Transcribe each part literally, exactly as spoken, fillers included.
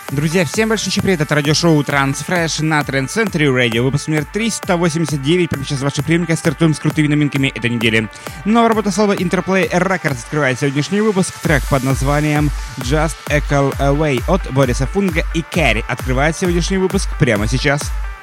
Друзья, всем большой привет, это радиошоу Transfresh на Trend Century Radio, выпуск номер триста восемьдесят девять, прямо сейчас в ваших приемниках стартуем с крутыми новинками этой недели. Новая работа слова Interplay Records открывает сегодняшний выпуск, трек под названием Just a Call Away от Бориса Фунга и Керри открывает сегодняшний выпуск прямо сейчас.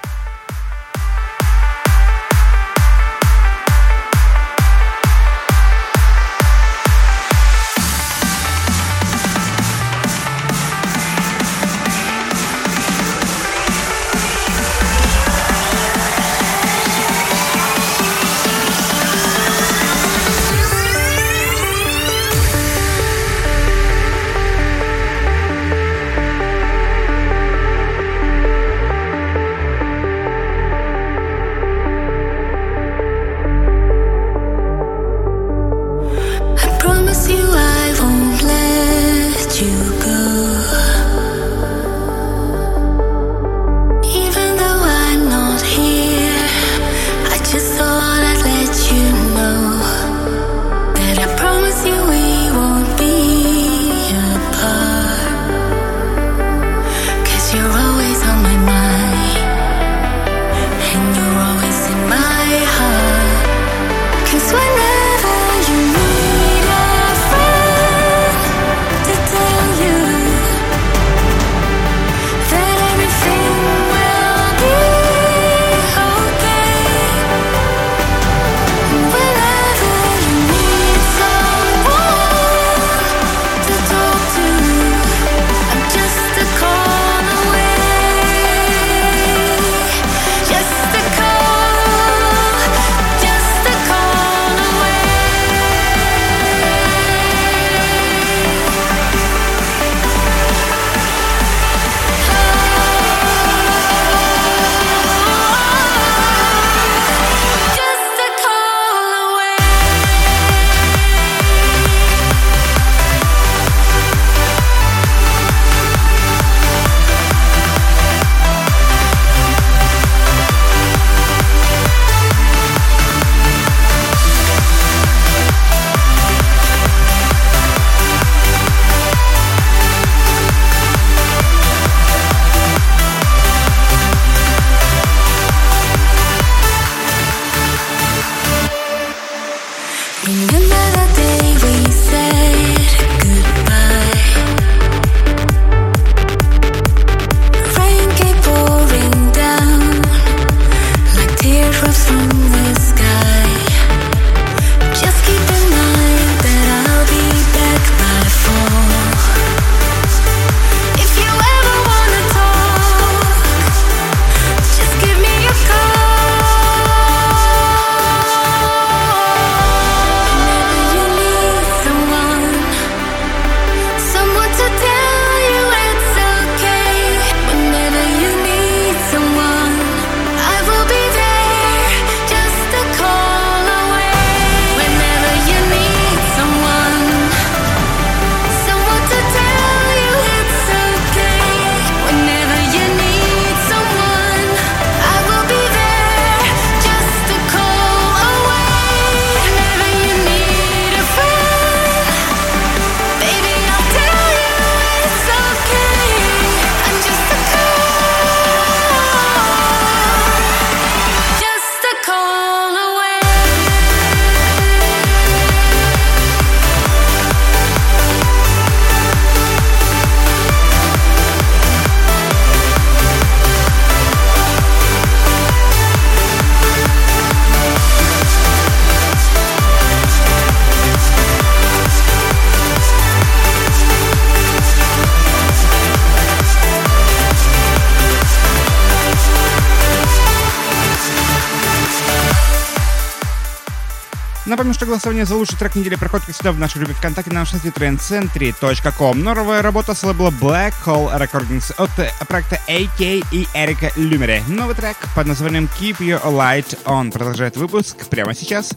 Напомню, что голосование за лучший трек недели проходит как всегда в нашей группе ВКонтакте на нашем сайте трend century точка ком. Новая работа с лейбла Black Hole Recordings от проекта эй кей и Эрика Люмере. Новый трек под названием Keep Your Light On продолжает выпуск прямо сейчас.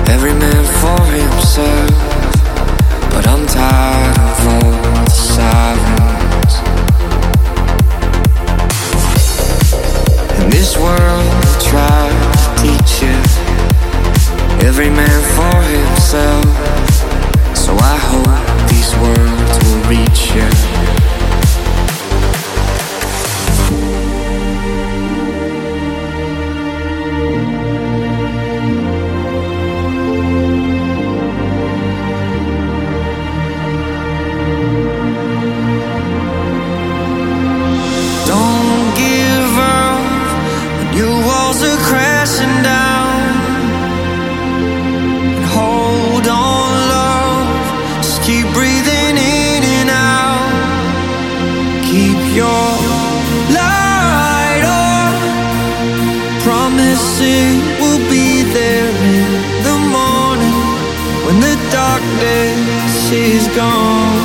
every man for himself. But I'm tired of all the sirens. In this world we try to teach you, every man for himself. So I hope these words will reach you. Is gone.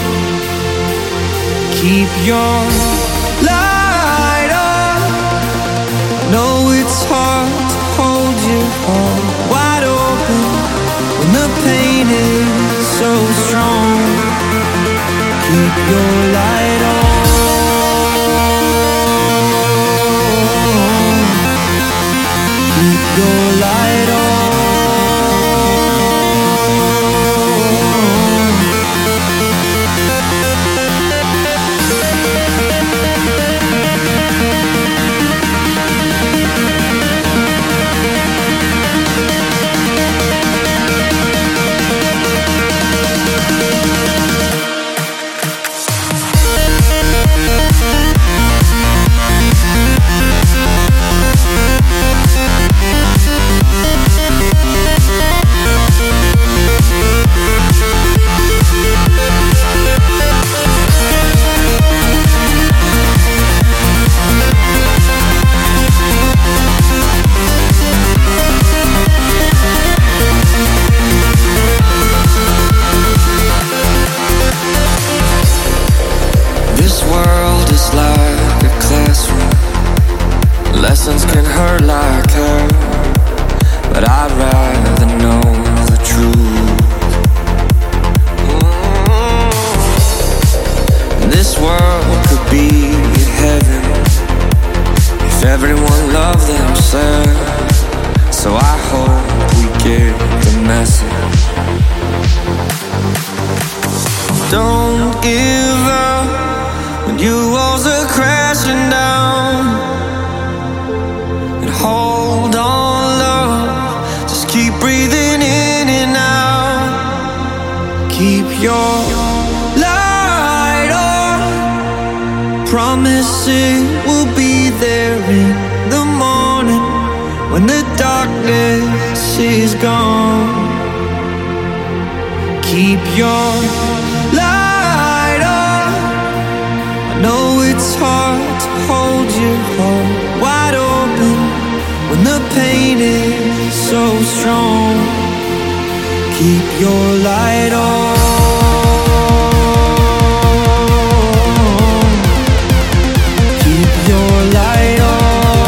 Keep your light on. Know it's hard to hold your heart wide open when the pain is so strong. Keep your light on. Keep your light on. Lessons can hurt like hell, but I'd rather know the truth. Mm-hmm. This world could be heaven if everyone loved themselves. So I hope we get the message. Don't give up when your walls are crashing down. Hold on, love, just keep breathing in and out. Keep your light on. Promise it will be there in the morning when the darkness is gone. Keep your light on. I know it's hard to hold your heart wide open when the pain is so strong. Keep your light on. Keep your light on.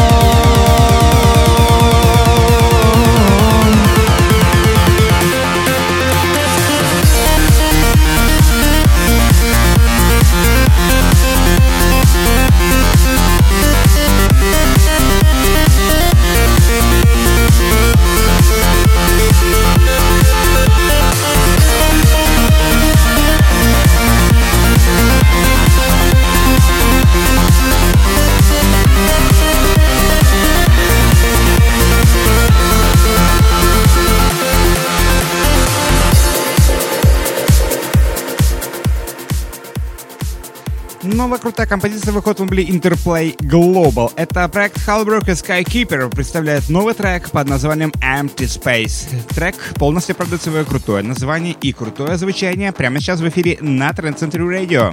Новая крутая композиция выходит в лейбле Interplay Global. Это проект Halbrook и Skykeeper представляет новый трек под названием Empty Space. Трек полностью оправдывает свое крутое название и крутое звучание прямо сейчас в эфире на Trend Century Radio.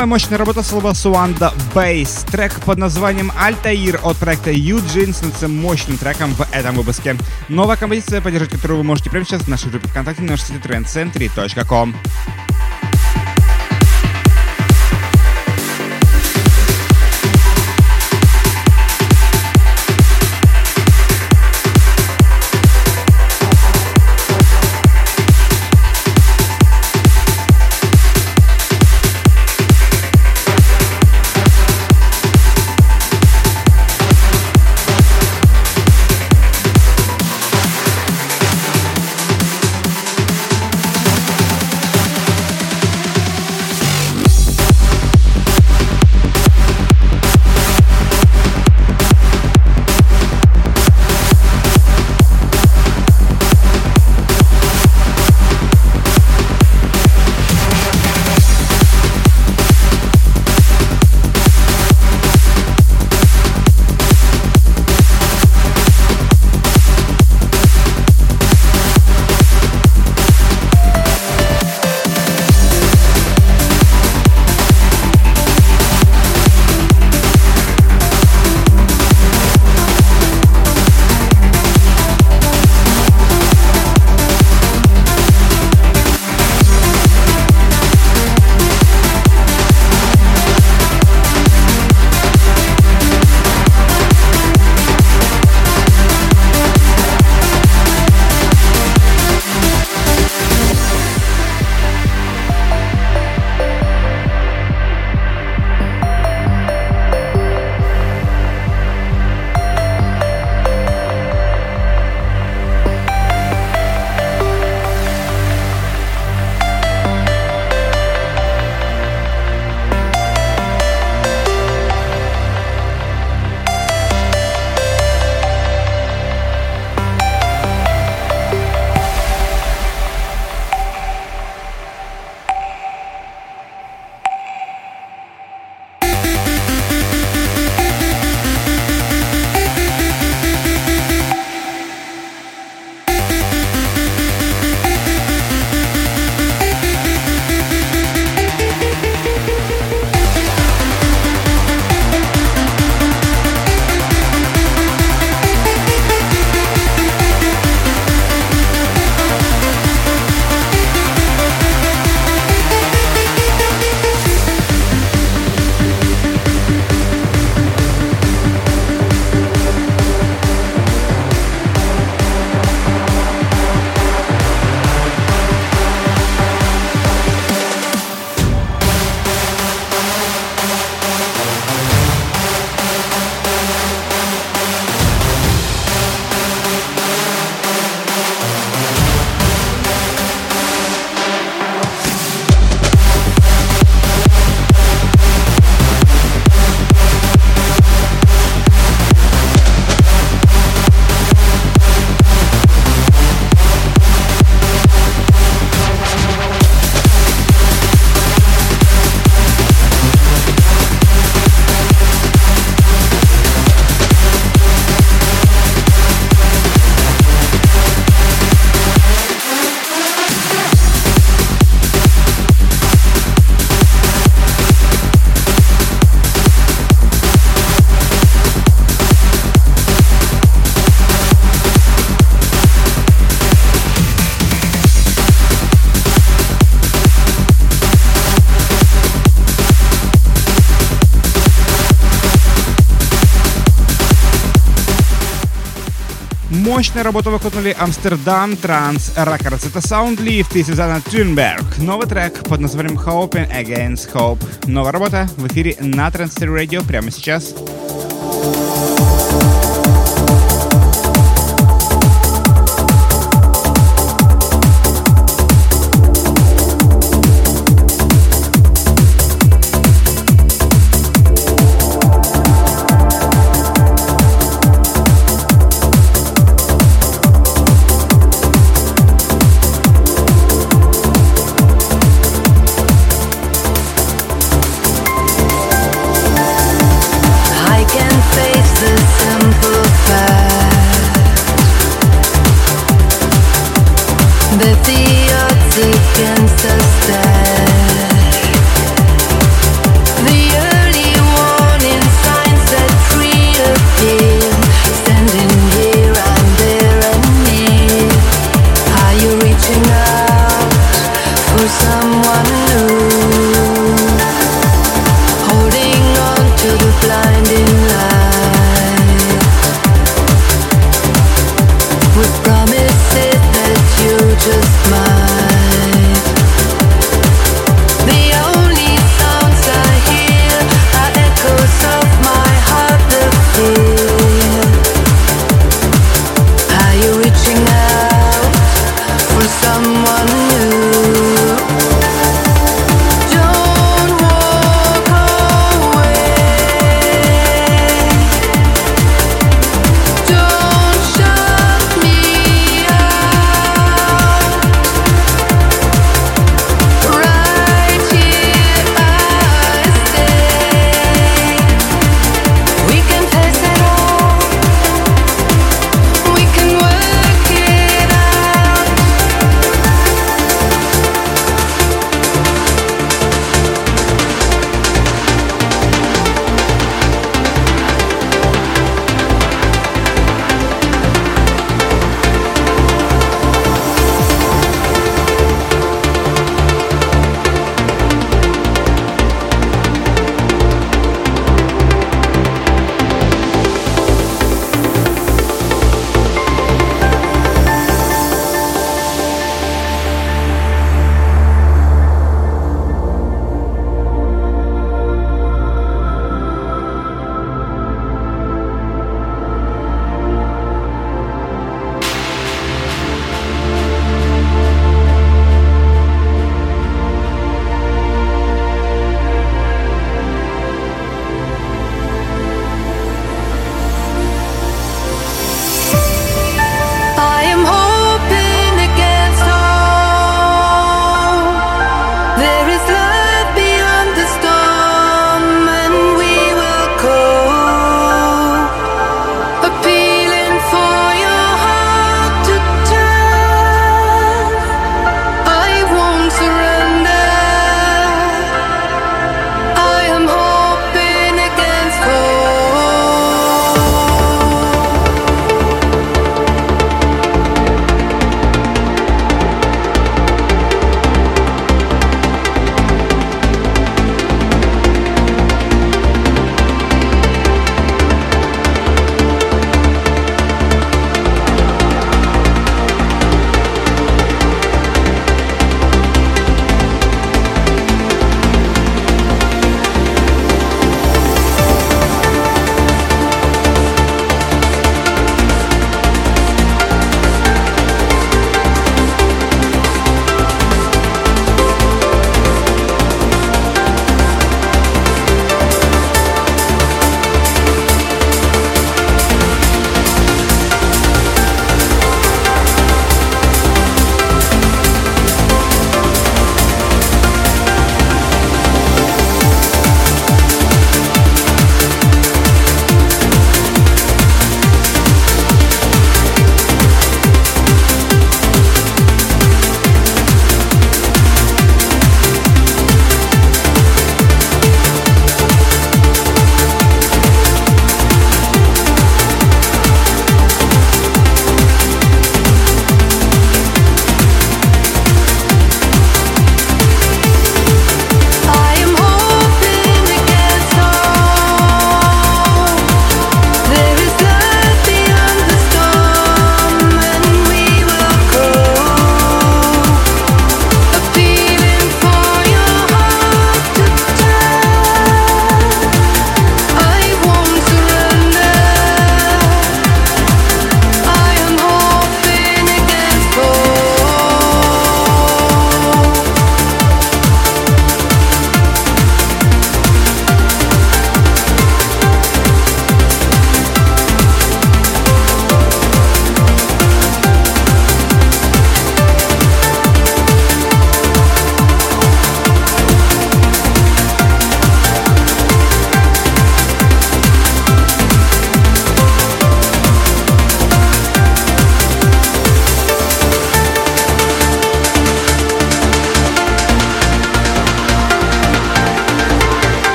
Новая мощная работа с лейбла Suanda Bass. Трек под названием Altair от проекта Eugene становится мощным треком в этом выпуске. Новая композиция, поддержать которую вы можете прямо сейчас в нашей группе ВКонтакте на нашем сайте тренд центри точка ком. Мощная работа выходнули Amsterdam Trans Records. Это Soundlift и Сюзанна Thunberg. Новый трек под названием Hoping Against Hope. Новая работа в эфире на Trend Center Radio прямо сейчас. High Don't walk away.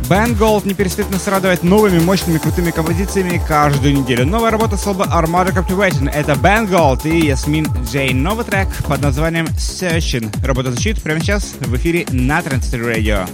Band Gold не перестает нас радовать новыми, мощными, крутыми композициями каждую неделю. Новая работа с лейбла Armada Captivating — это Band Gold и Ясмин Джейн. Новый трек под названием Searching. Работа звучит прямо сейчас в эфире на Transistor Radio.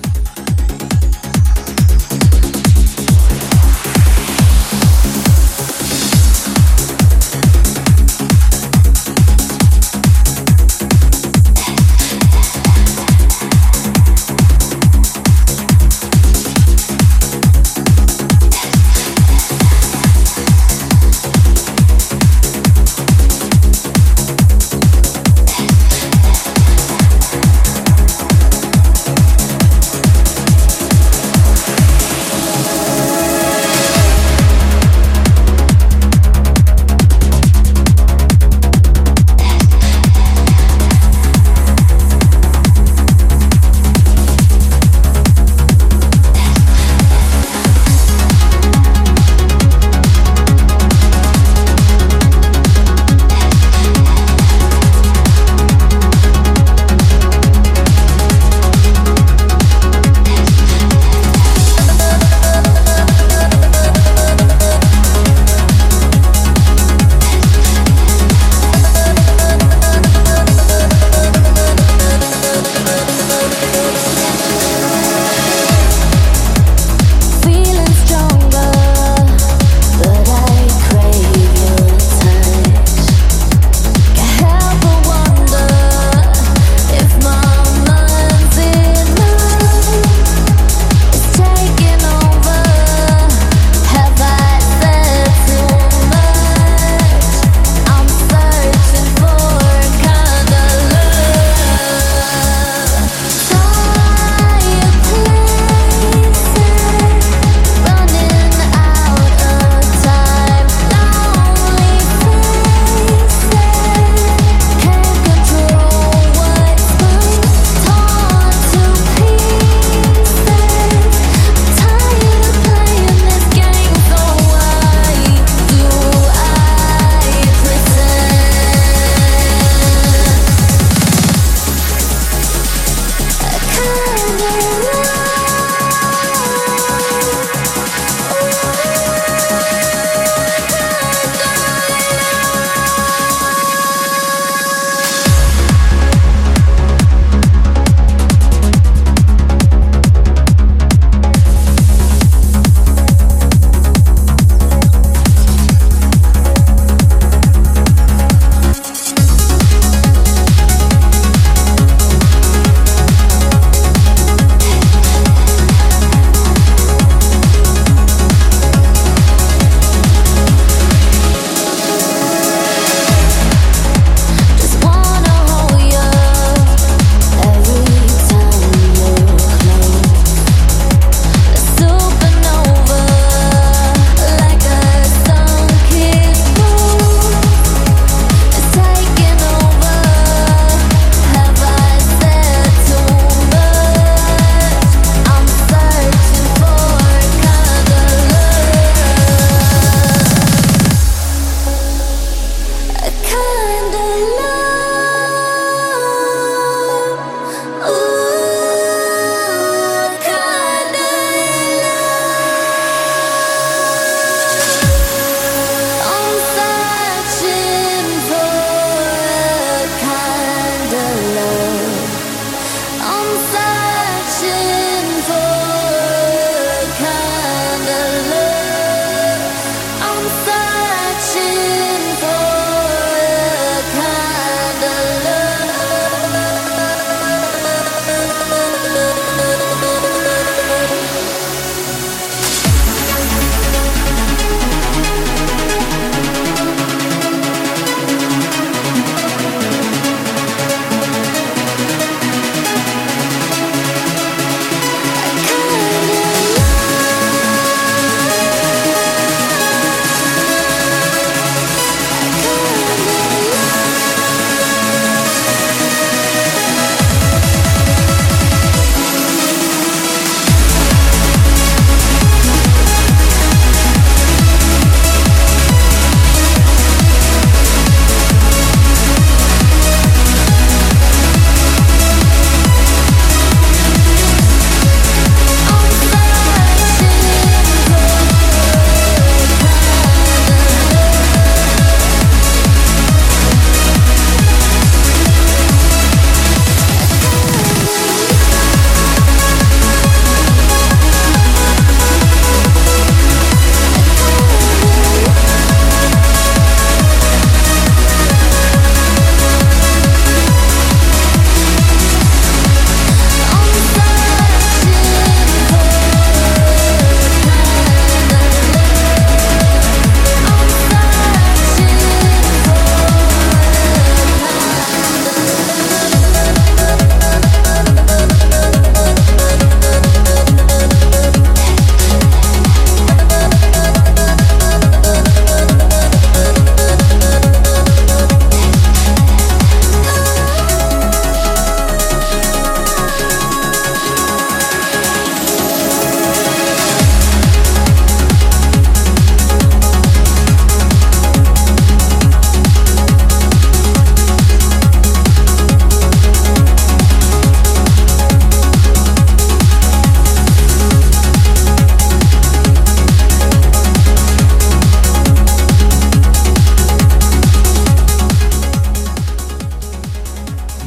We'll be right back.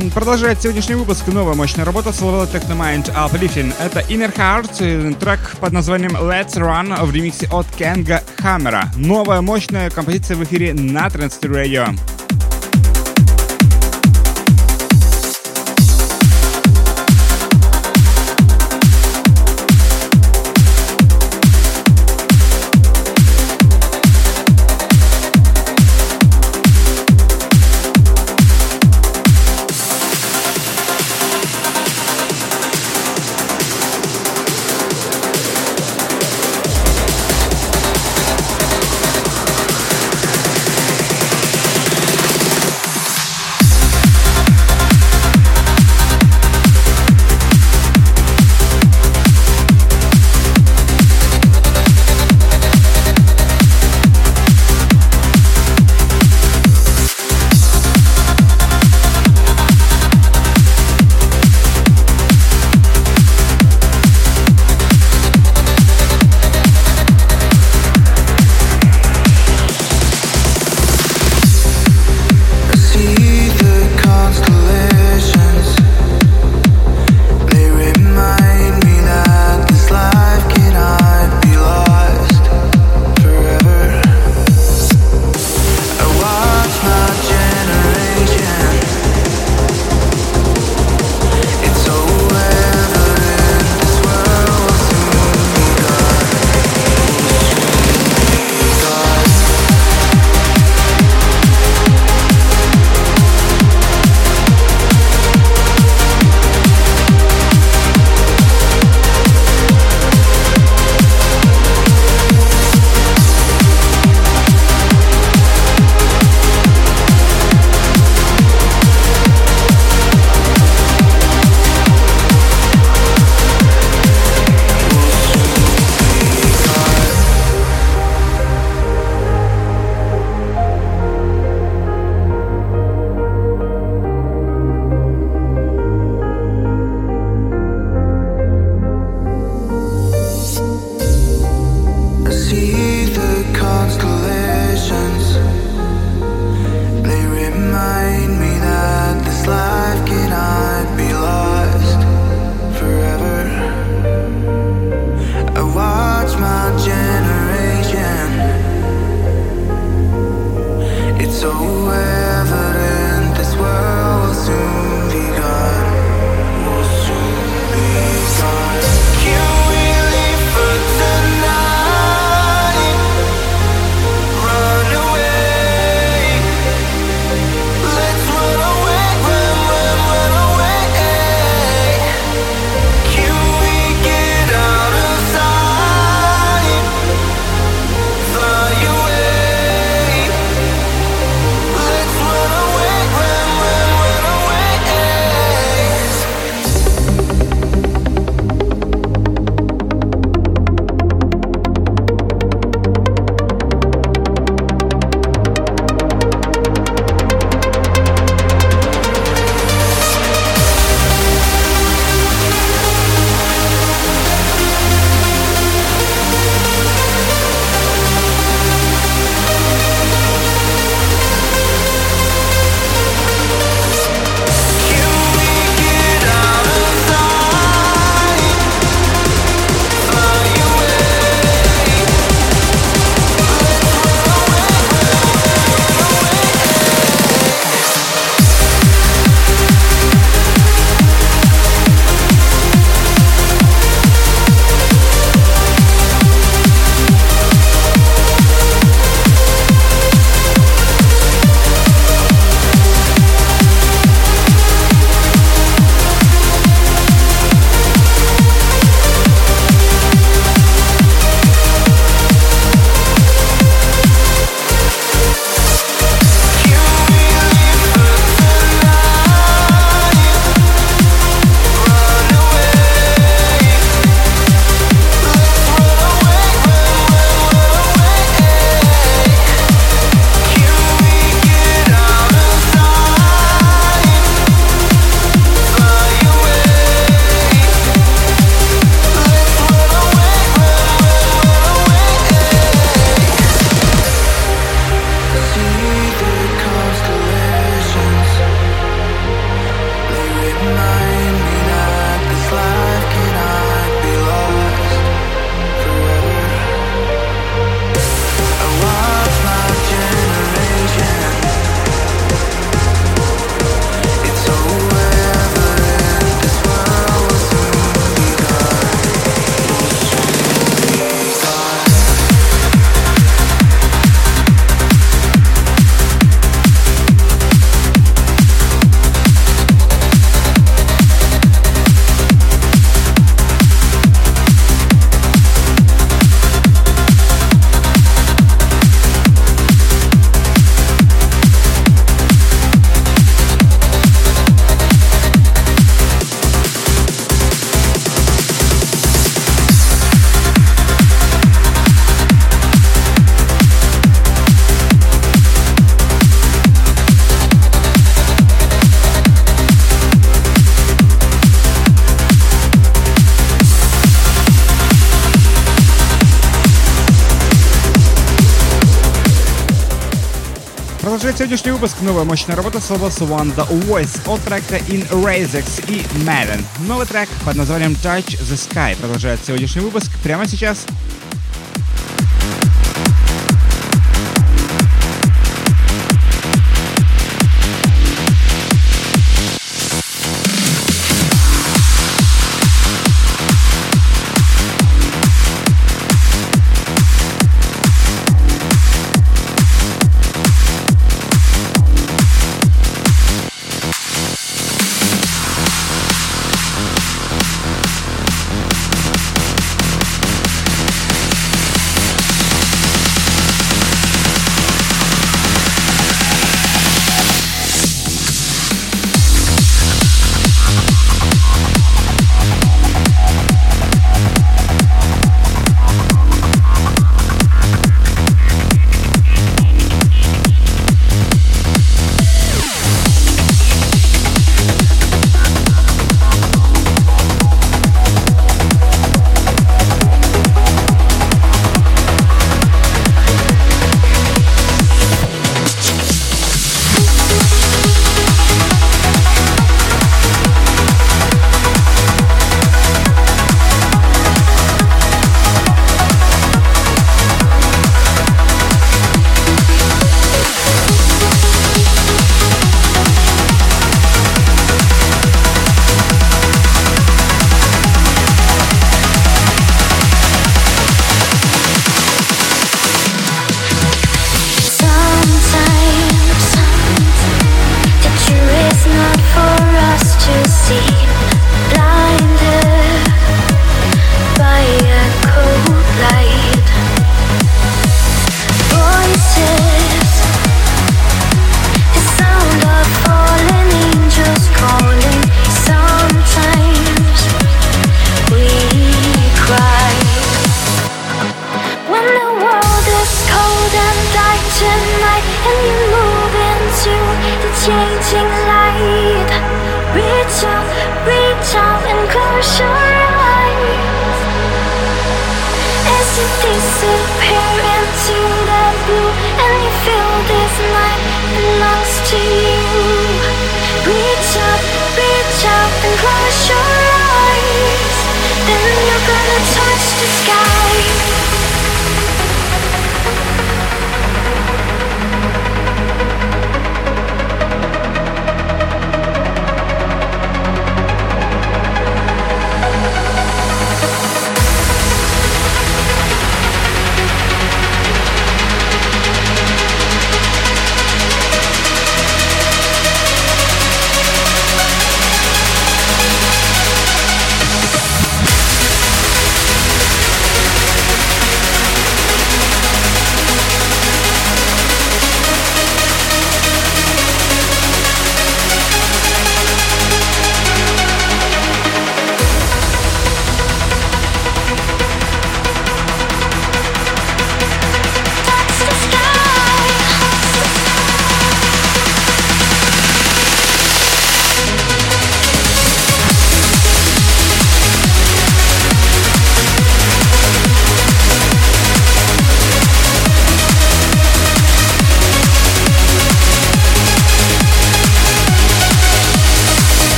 Продолжает сегодняшний выпуск новая мощная работа с лейбла Technomind Uplifting. Это Inner Heart, трек под названием Let's Run в ремиксе от Кенга Хаммера. Новая мощная композиция в эфире на Transistor Radio. Let's Завершает сегодняшний выпуск новая мощная работа с лейбла One The Voice от проекта In Razix и Madden. Новый трек под названием Touch the Sky продолжает сегодняшний выпуск прямо сейчас.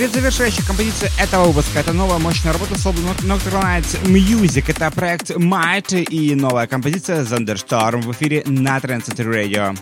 Предзавершающая композиция этого выпуска — это новая мощная работа с лейбла Nocturnal Nights Music. Это проект Might и новая композиция Thunderstorm в эфире на Trance Center Radio.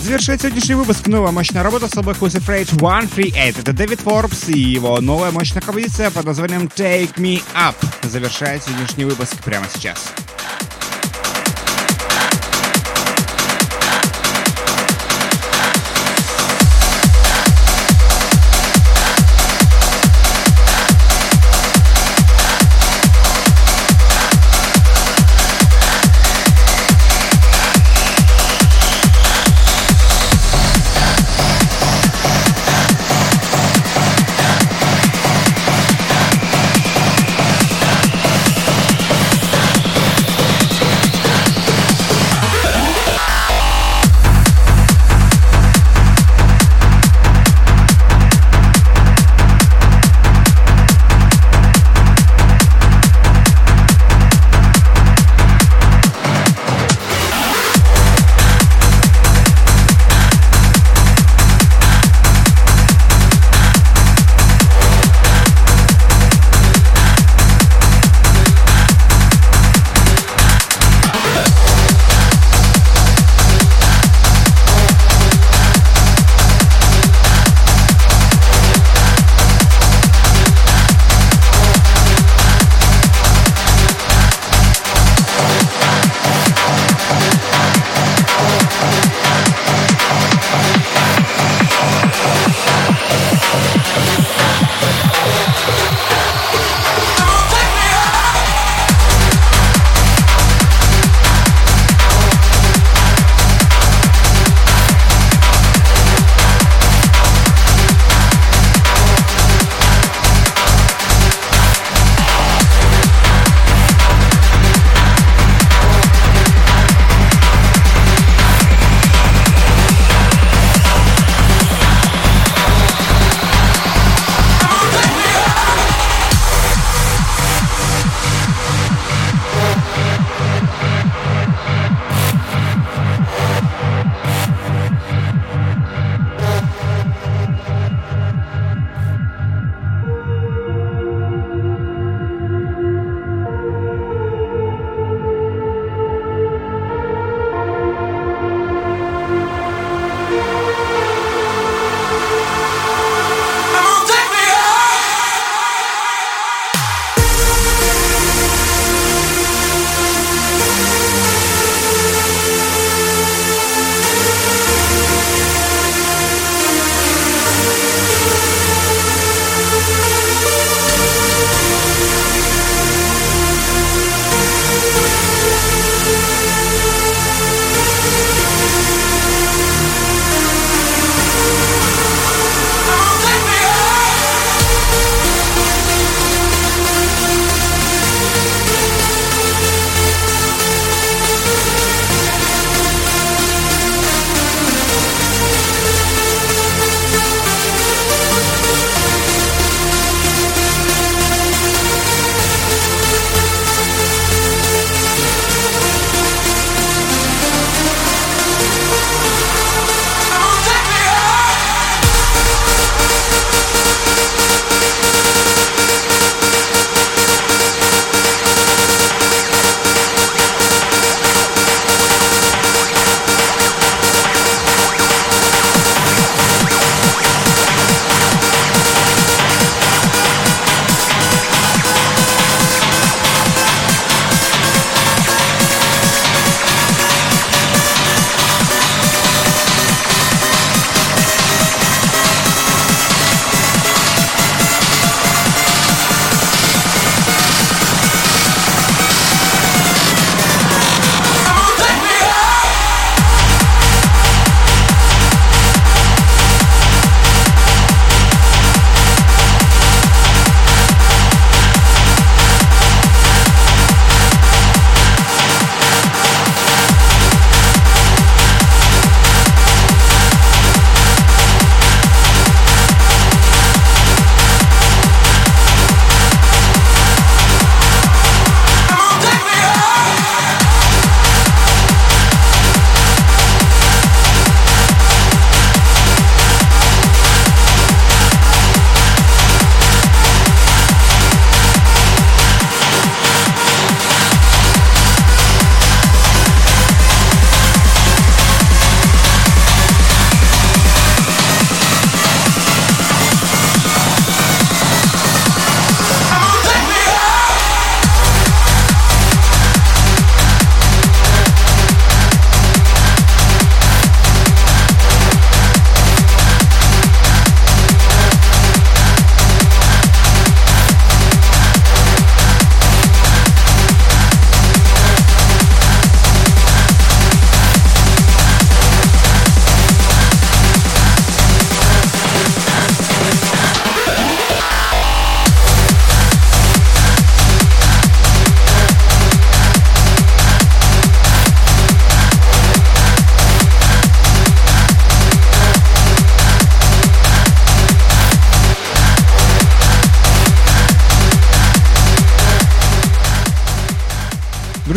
Завершает сегодняшний выпуск новая мощная работа с собой Who's Afraid сто тридцать восемь. Это Дэвид Форбс и его новая мощная композиция под названием Take Me Up. Завершает сегодняшний выпуск прямо сейчас.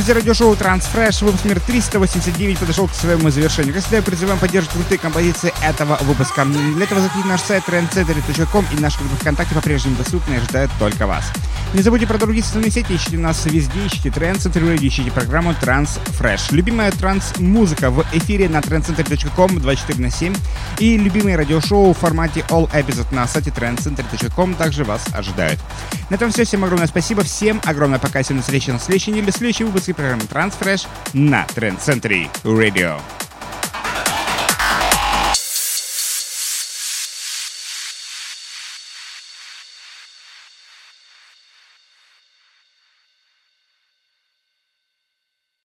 Друзья, радиошоу Transfresh, выпуск номер триста восемьдесят девять подошел к своему завершению. Как всегда, призываем поддерживать крутые композиции этого выпуска. Для этого заходите на наш сайт тренд центри точка ком, и наши группы ВКонтакте по-прежнему доступны и ожидают только вас. Не забудьте про другие социальные сети, ищите нас везде, ищите Trend Center Radio, ищите программу Transfresh. Любимая транс-музыка в эфире на тренд центри точка ком двадцать четыре на семь, и любимые радиошоу в формате All Episode на сайте тренд центри точка ком также вас ожидают. На этом все. Всем огромное спасибо, всем огромное пока, всем на встрече на следующей неделе, в следующем выпуске программы Transfresh на Trend Center Radio.